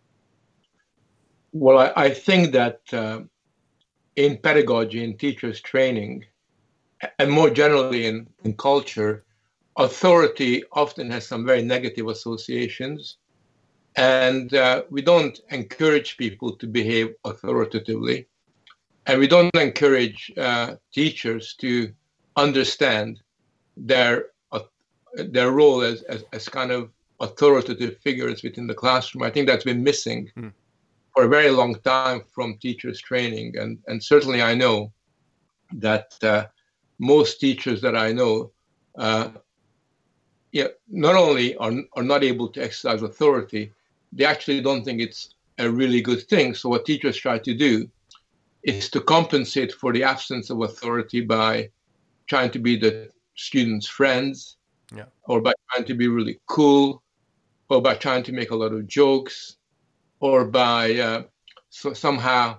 Well, I think that in pedagogy, in teachers' training, and more generally in culture, authority often has some very negative associations, and we don't encourage people to behave authoritatively, and we don't encourage teachers to understand their role as kind of authoritative figures within the classroom. I think that's been missing for a very long time from teachers' training. And certainly I know that most teachers that I know not only are not able to exercise authority, they actually don't think it's a really good thing. So what teachers try to do is to compensate for the absence of authority by trying to be the students' friends, or by trying to be really cool, or by trying to make a lot of jokes, or by somehow,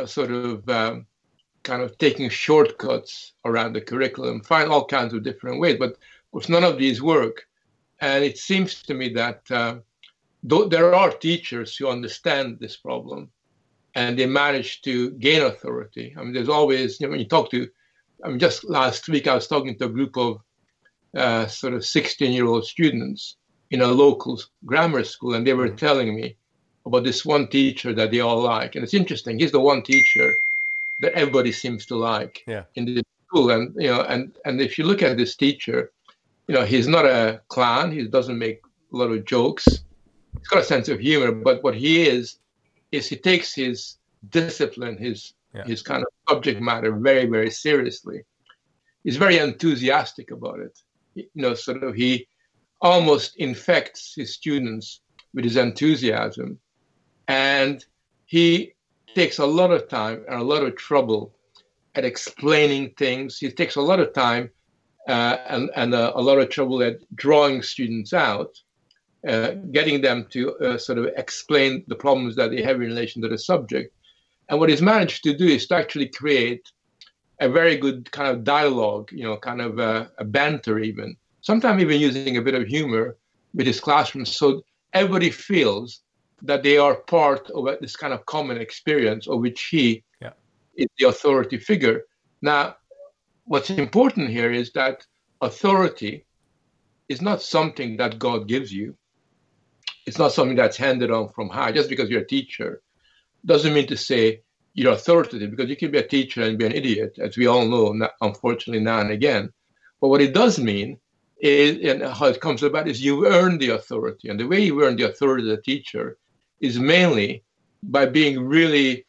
kind of taking shortcuts around the curriculum, find all kinds of different ways. But of course, none of these work. And it seems to me that though there are teachers who understand this problem and they manage to gain authority. I mean, there's always, when you talk to, just last week I was talking to a group of sort of 16-year-old students in a local grammar school, and they were telling me about this one teacher that they all like. And it's interesting, he's the one teacher that everybody seems to like in the school. And, and if you look at this teacher, he's not a clown. He doesn't make a lot of jokes. He's got a sense of humor, but what he is he takes his discipline, his kind of subject matter very, very seriously. He's very enthusiastic about it. He almost infects his students with his enthusiasm. And he takes a lot of time and a lot of trouble at explaining things. He takes a lot of time and a lot of trouble at drawing students out, getting them to sort of explain the problems that they have in relation to the subject. And what he's managed to do is to actually create a very good kind of dialogue, kind of a banter even, sometimes even using a bit of humor with his classroom, so everybody feels that they are part of this kind of common experience of which he is the authority figure. Now, what's important here is that authority is not something that God gives you. It's not something that's handed on from high. Just because you're a teacher doesn't mean to say you're authoritative, because you can be a teacher and be an idiot, as we all know, unfortunately, now and again. But what it does mean is, and how it comes about, is you earn the authority. And the way you earn the authority as a teacher is mainly by being really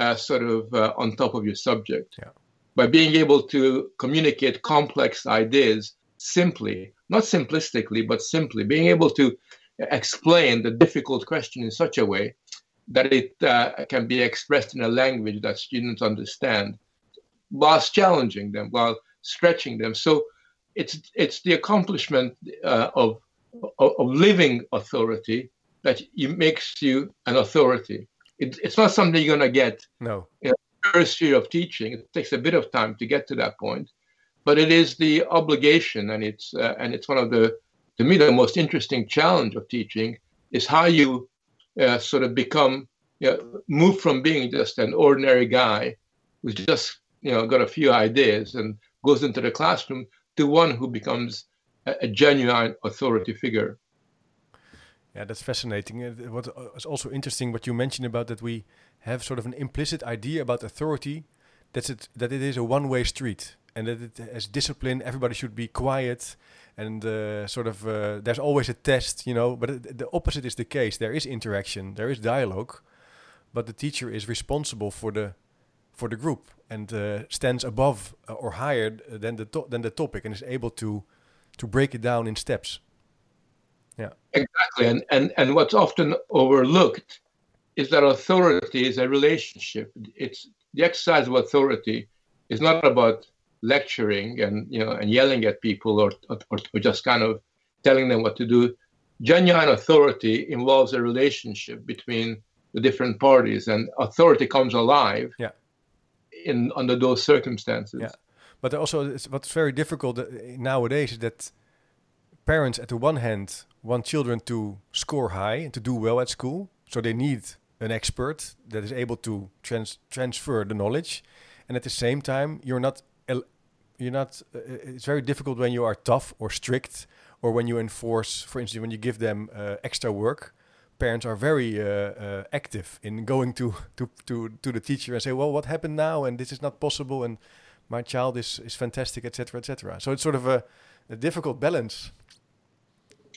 on top of your subject, by being able to communicate complex ideas simply, not simplistically, but simply, being able to explain the difficult question in such a way that it can be expressed in a language that students understand, whilst challenging them, while stretching them. So it's the accomplishment of living authority that makes you an authority. It's not something you're going to get in the first year of teaching. It takes a bit of time to get to that point, but it is the obligation, and it's one of the, to me, the most interesting challenge of teaching is how you sort of become, move from being just an ordinary guy who's just got a few ideas and goes into the classroom to one who becomes a genuine authority figure. Yeah, that's fascinating. What is also interesting, what you mentioned about that we have sort of an implicit idea about authority, that it is a one-way street, and that it has discipline. Everybody should be quiet, and there's always a test, But the opposite is the case. There is interaction, there is dialogue, but the teacher is responsible for the group and stands above or higher than the topic, and is able to break it down in steps. Yeah, exactly. And what's often overlooked is that authority is a relationship. It's the exercise of authority is not about lecturing and yelling at people or just kind of telling them what to do. Genuine authority involves a relationship between the different parties, and authority comes alive under those circumstances. Yeah, but also what's very difficult nowadays is that parents, at the one hand, want children to score high and to do well at school, so they need an expert that is able to transfer the knowledge, and at the same time, it's very difficult when you are tough or strict, or when you enforce, for instance, when you give them extra work. Parents are very active in going to the teacher and say, well, what happened now? And this is not possible, and my child is fantastic, etc., etc. So it's sort of a difficult balance.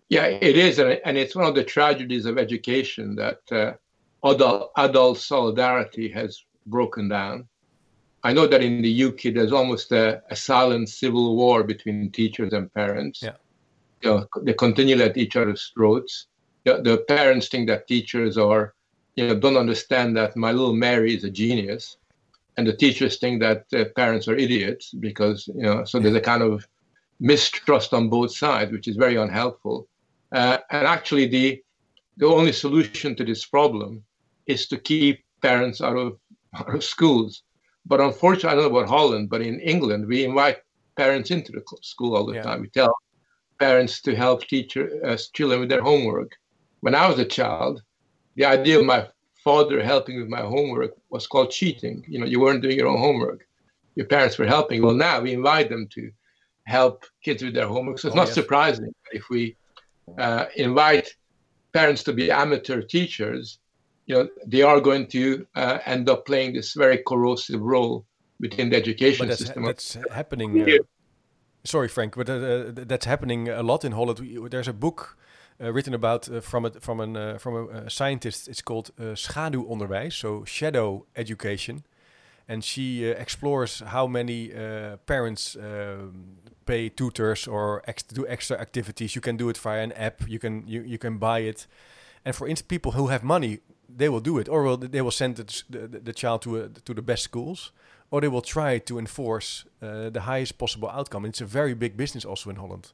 Yeah, it is, and it's one of the tragedies of education that adult solidarity has broken down. I know that in the UK, there's almost a silent civil war between teachers and parents. Yeah. They continually at each other's throats. The parents think that teachers are, don't understand that my little Mary is a genius, and the teachers think that parents are idiots because, so there's a kind of mistrust on both sides, which is very unhelpful. And actually, the only solution to this problem is to keep parents out of schools. But unfortunately, I don't know about Holland, but in England, we invite parents into the school all the time. We tell parents to help children with their homework. When I was a child, the idea of my father helping with my homework was called cheating. You weren't doing your own homework. Your parents were helping. Well, now we invite them to help kids with their homework. So it's not surprising if we invite parents to be amateur teachers, they are going to end up playing this very corrosive role within the education system. That's happening. Sorry, Frank, but that's happening a lot in Holland. There's a book written about from a scientist. It's called schaduwonderwijs, so shadow education, and she explores how many parents pay tutors or do extra activities. You can do it via an app. You can buy it, and for instance, people who have money, they will do it, or they will send the child to the best schools, or they will try to enforce the highest possible outcome. And it's a very big business also in Holland.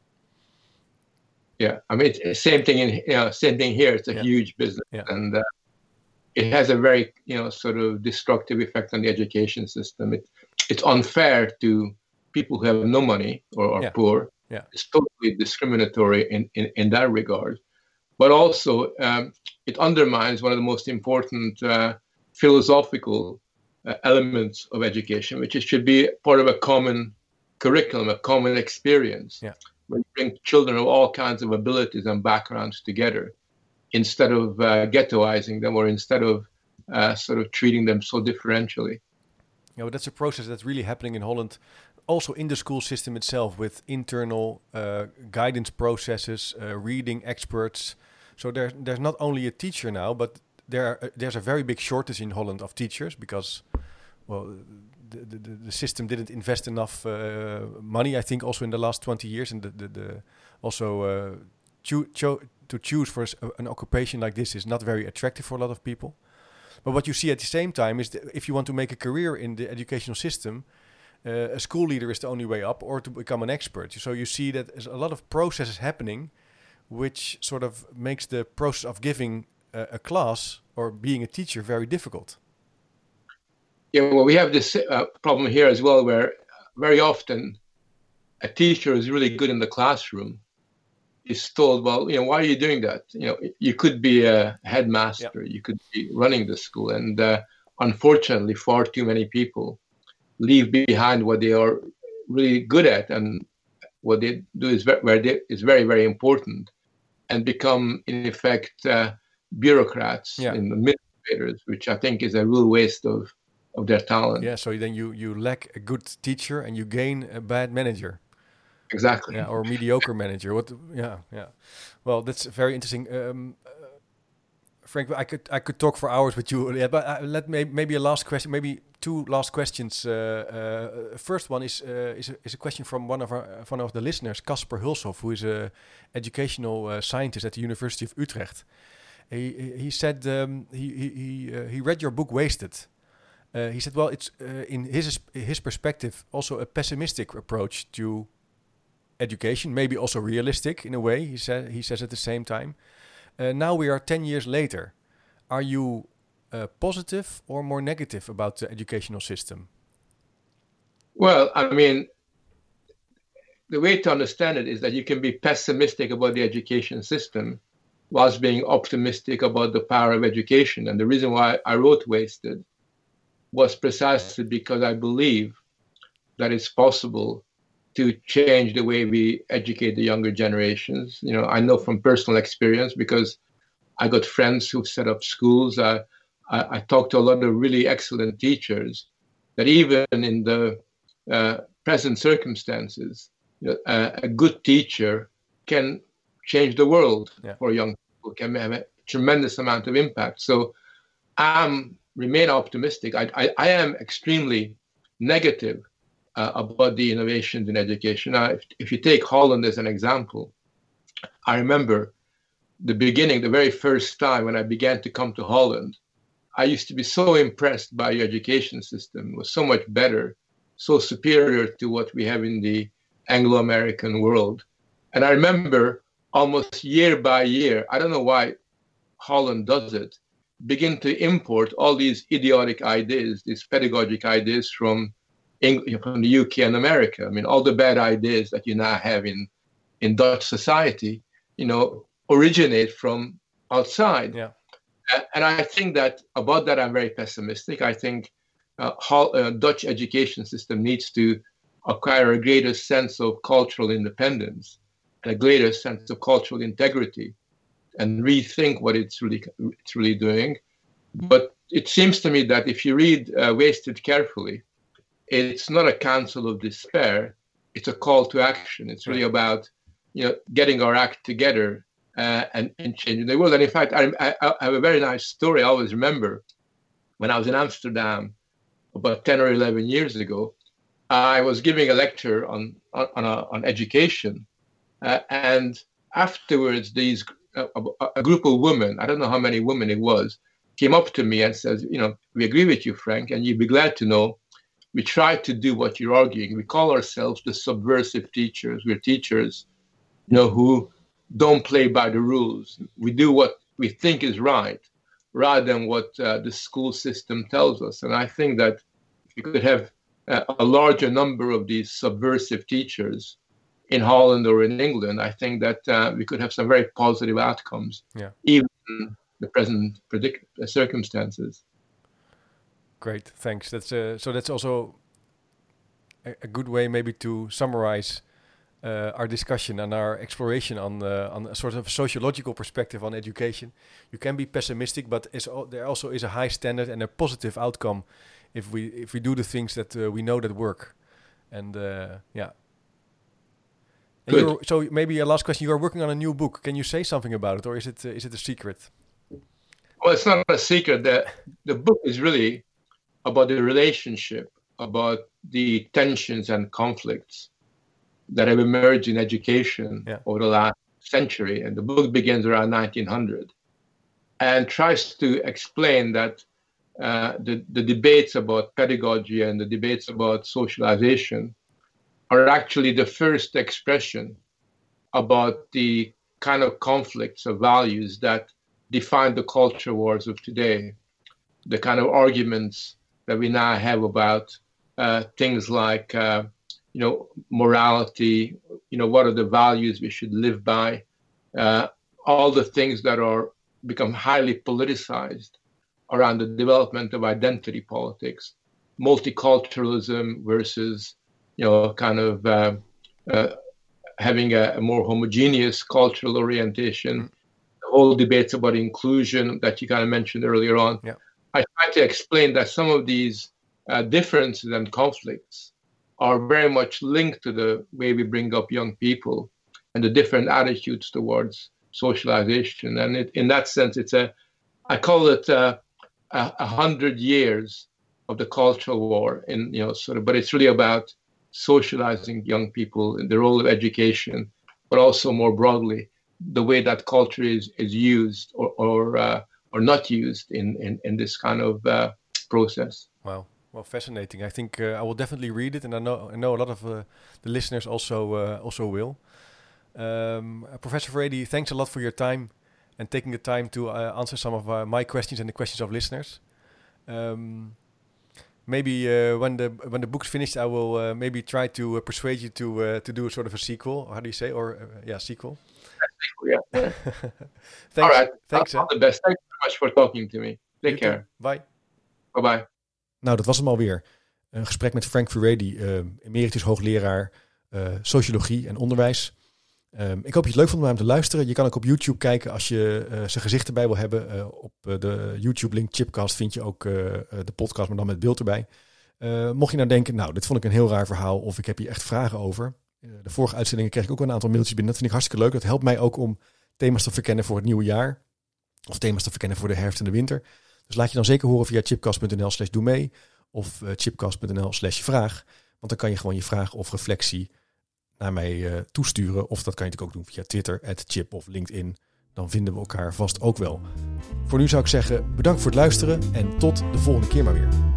Yeah, I mean, it's same thing here. It's a huge business, and it has a very sort of destructive effect on the education system. It's unfair to people who have no money or are poor. Yeah, it's totally discriminatory in that regard. But also, it undermines one of the most important philosophical elements of education, which should be part of a common curriculum, a common experience. Yeah. When you bring children of all kinds of abilities and backgrounds together, instead of ghettoizing them or instead of sort of treating them so differentially. Yeah, but that's a process that's really happening in Holland, also in the school system itself, with internal guidance processes, reading experts. So there's not only a teacher now, but there's a very big shortage in Holland of teachers because, well, the system didn't invest enough money, I think, also in the last 20 years, and to choose for an occupation like this is not very attractive for a lot of people. But what you see at the same time is that if you want to make a career in the educational system, a school leader is the only way up, or to become an expert. So you see that there's a lot of processes happening, which sort of makes the process of giving a class or being a teacher very difficult. Yeah, well, we have this problem here as well, where very often a teacher is really good in the classroom is told, well, why are you doing that? You could be a headmaster, you could be running the school. And unfortunately, far too many people leave behind what they are really good at and what they do is very, very important, and become, in effect, bureaucrats and administrators, which I think is a real waste of their talent. Yeah, so then you lack a good teacher and you gain a bad manager. Exactly. Yeah, or mediocre manager. Well, that's very interesting. Frank, I could talk for hours with you. Yeah, but maybe a last question, maybe two last questions. First one is a question from one of the listeners, Casper Hulshoff, who is a educational scientist at the University of Utrecht. He said he read your book Wasted. He said, well, it's in his perspective also a pessimistic approach to education, maybe also realistic in a way. He says at the same time. Now we are 10 years later. Are you positive or more negative about the educational system? Well, I mean, the way to understand it is that you can be pessimistic about the education system whilst being optimistic about the power of education. And the reason why I wrote Wasted was precisely because I believe that it's possible to change the way we educate the younger generations. I know from personal experience, because I got friends who set up schools. I talked to a lot of really excellent teachers that even in the present circumstances, a good teacher can change the world for young people, can have a tremendous amount of impact. So I remain optimistic. I am extremely negative about the innovations in education. Now, if you take Holland as an example, I remember the beginning, the very first time when I began to come to Holland, I used to be so impressed by your education system. It was so much better, so superior to what we have in the Anglo-American world. And I remember almost year by year, I don't know why Holland does it, begin to import all these idiotic ideas, these pedagogic ideas from the UK and America. I mean, all the bad ideas that you now have in Dutch society, originate from outside. Yeah. And I think that about that, I'm very pessimistic. I think Dutch education system needs to acquire a greater sense of cultural independence and a greater sense of cultural integrity and rethink what it's really doing. But it seems to me that if you read Wasted carefully, it's not a counsel of despair. It's a call to action. It's really about getting our act together and changing the world. And in fact, I have a very nice story I always remember. When I was in Amsterdam about 10 or 11 years ago, I was giving a lecture on education. And afterwards, a group of women, I don't know how many women it was, came up to me and says, we agree with you, Frank, and you'd be glad to know we try to do what you're arguing. We call ourselves the subversive teachers. We're teachers, who don't play by the rules. We do what we think is right rather than what the school system tells us. And I think that if you could have a larger number of these subversive teachers in Holland or in England, I think that we could have some very positive outcomes, even in the present circumstances. Great, thanks. That's also a good way maybe to summarize our discussion and our exploration on a sort of sociological perspective on education. You can be pessimistic, but there also is a high standard and a positive outcome if we do the things that we know that work. And And so maybe a last question. You are working on a new book. Can you say something about it, or is it a secret? Well, it's not a secret. The book is really about the relationship, about the tensions and conflicts that have emerged in education over the last century. And the book begins around 1900 and tries to explain that the debates about pedagogy and the debates about socialization are actually the first expression about the kind of conflicts of values that define the culture wars of today, the kind of arguments that we now have about things like, morality, what are the values we should live by, all the things that are become highly politicized around the development of identity politics, multiculturalism versus, having a more homogeneous cultural orientation, the whole debates about inclusion that you kind of mentioned earlier on. Yeah. I try to explain that some of these differences and conflicts are very much linked to the way we bring up young people and the different attitudes towards socialization. And in that sense, I call it 100 years of the cultural war, but it's really about socializing young people in the role of education, but also more broadly, the way that culture is used or not used in this kind of process. Wow. Well, fascinating. I think I will definitely read it, and I know a lot of the listeners also will. Professor Furedi, thanks a lot for your time and taking the time to answer some of my questions and the questions of listeners. Maybe when the book's finished, I will maybe try to persuade you to do a sort of a sequel. How do you say? Sequel. Yeah. Thanks. All right. Thanks. All the best. Thanks so much for talking to me. Take care. Bye. Bye. Nou, dat was hem alweer. Een gesprek met Frank Furedi, emeritus hoogleraar sociologie en onderwijs. Ik hoop dat je het leuk vond om hem te luisteren. Je kan ook op YouTube kijken als je zijn gezicht erbij wil hebben. Op de YouTube-link Chipcast vind je ook de podcast, maar dan met beeld erbij. Mocht je nou denken, dit vond ik een heel raar verhaal of ik heb hier echt vragen over. De vorige uitzendingen kreeg ik ook wel een aantal mailtjes binnen. Dat vind ik hartstikke leuk. Dat helpt mij ook om thema's te verkennen voor het nieuwe jaar. Of thema's te verkennen voor de herfst en de winter. Dus laat je dan zeker horen via chipcast.nl/doe mee. Of chipcast.nl/vraag. Want dan kan je gewoon je vraag of reflectie naar mij toesturen. Of dat kan je natuurlijk ook doen via Twitter, @chip of LinkedIn. Dan vinden we elkaar vast ook wel. Voor nu zou ik zeggen, bedankt voor het luisteren en tot de volgende keer maar weer.